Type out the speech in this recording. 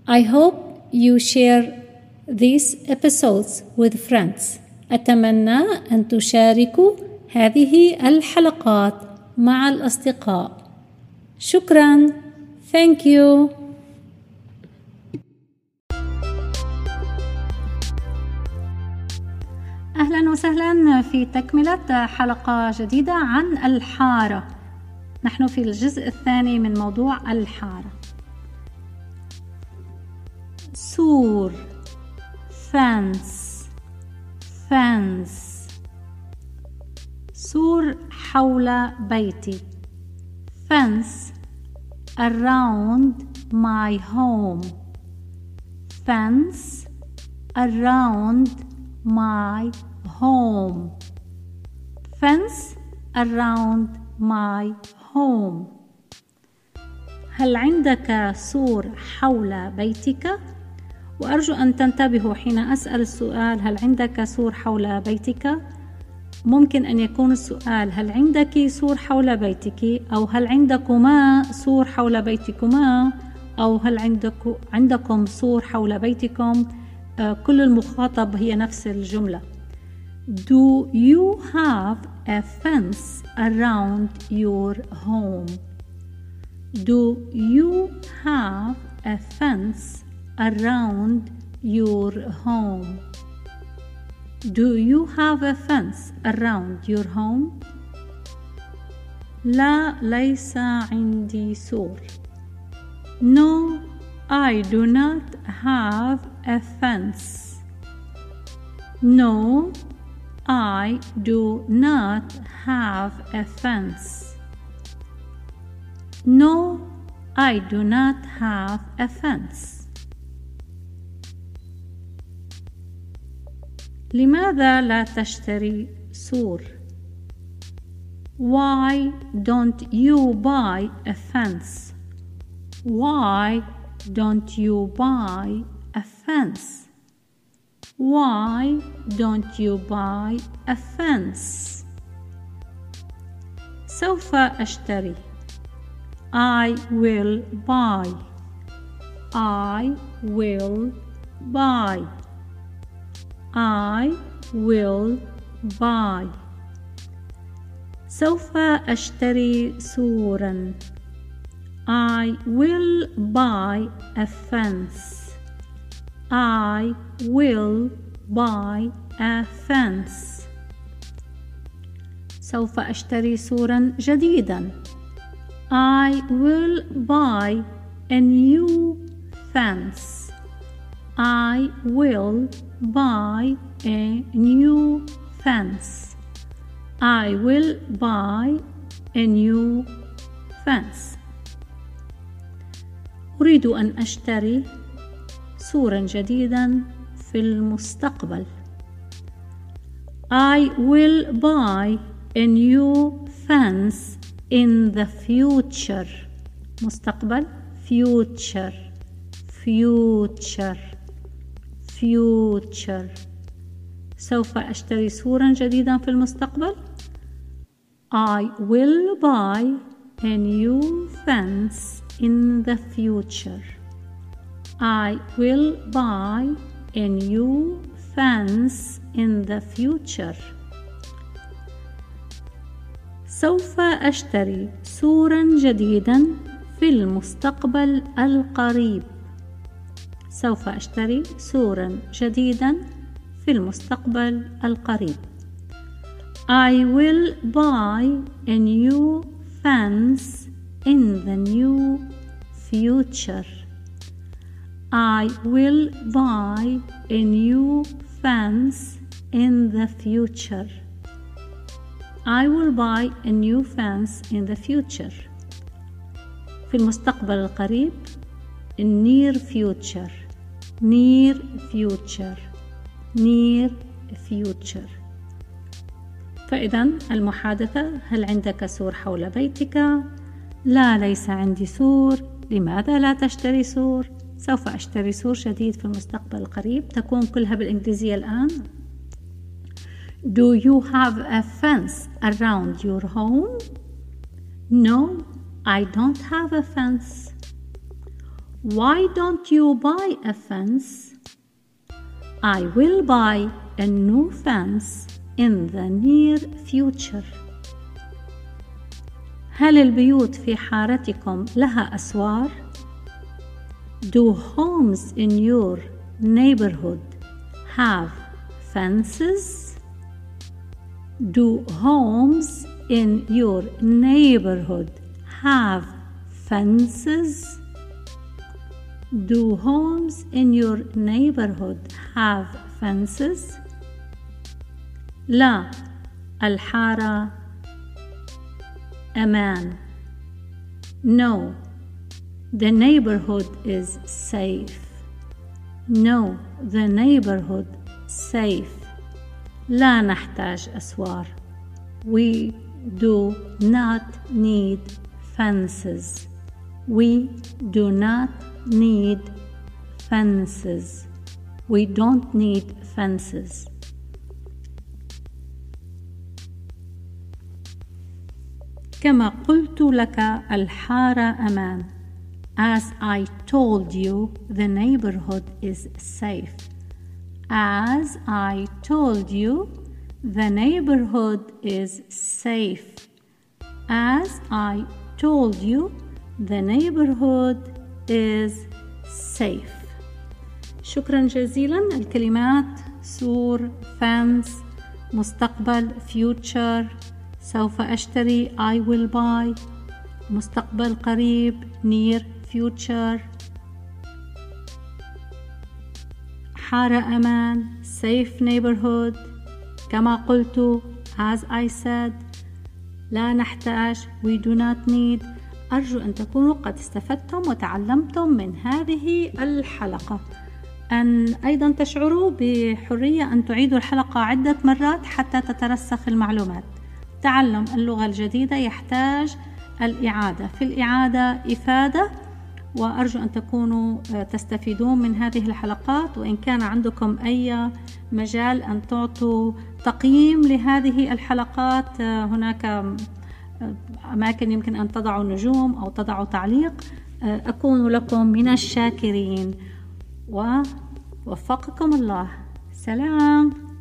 I hope you share these episodes with friends. أتمنى أن تشاركوا هذه الحلقات مع الأصدقاء. شكراً. Thank you. أهلاً وسهلاً في تكملة حلقة جديدة عن الحارة. نحن في الجزء الثاني من موضوع الحارة. سور fence سور حول بيتي. fence around my home. fence around my home. fence around my home. هل عندك سور حول بيتك؟ وأرجو أن تنتبهوا حين أسأل السؤال هل عندك سور حول بيتك؟ ممكن أن يكون السؤال هل عندك سور حول بيتك، أو هل عندكما سور حول بيتكما، أو هل عندكم سور حول بيتكم. كل المخاطب هي نفس الجملة. Do you have a fence around your home? Do you have a fence around your home? Do you have a fence around your home? لا، ليس عندي سور. No, I do not have a fence. No, I do not have a fence. No, I do not have a fence. لماذا لا تشتري سور؟ Why don't you buy a fence? Why don't you buy a fence? Why don't you buy a fence? سوف أشتري. I will buy. I will buy. I will buy. سوف أشتري سوراً. I will buy a fence. I will buy a fence. سوف أشتري سوراً جديداً. I will buy a new fence. I will buy a new fence. I will buy a new fence. أريد أن أشتري سوراً جديداً في المستقبل. I will buy a new fence in the future. مستقبل future future future. سوف أشتري سوراً جديداً في المستقبل. I will buy a new fence in the future. I will buy a new fence in the future. سوف أشتري سوراً جديداً في المستقبل القريب. سوف أشتري سوراً جديداً في المستقبل القريب. I will buy a new fence in the new future. I will buy a new fence in the future. I will buy a new fence in the future. في المستقبل القريب. near future near future near future. فإذا المحادثة: هل عندك سور حول بيتك؟ لا، ليس عندي سور. لماذا لا تشتري سور؟ سوف أشتري سور جديد في المستقبل القريب. تكون كلها بالإنجليزية الآن. Do you have a fence around your home? No, I don't have a fence. Why don't you buy a fence? I will buy a new fence in the near future. هل البيوت في حارتكم لها أسوار؟ Do homes in your neighborhood have fences? Do homes in your neighborhood have fences? Do homes in your neighborhood have fences? لا، الحارة أمان. No, the neighborhood is safe. No, the neighborhood safe. لا نحتاج أسوار. We do not need fences. We do not need fences. We don't need fences. كما قلت لك الحارة أمان. As I told you, the neighborhood is safe. As I told you, the neighborhood is safe. As I told you, the neighborhood is safe. شكرا جزيلا. الكلمات سور، fence، مستقبل future، سوف أشتري I will buy، مستقبل قريب near future، حارة أمان safe neighborhood. كما قلت as I said، لا نحتاج we do not need. أرجو أن تكونوا قد استفدتم وتعلمتم من هذه الحلقة. أن أيضا تشعروا بحرية أن تعيدوا الحلقة عدة مرات حتى تترسخ المعلومات. تعلم اللغة الجديدة يحتاج الإعادة، في الإعادة إفادة، وأرجو أن تكونوا تستفيدون من هذه الحلقات. وإن كان عندكم أي مجال أن تعطوا تقييم لهذه الحلقات، هناك أماكن يمكن أن تضعوا نجوم أو تضعوا تعليق، أكون لكم من الشاكرين. ووفقكم الله. سلام.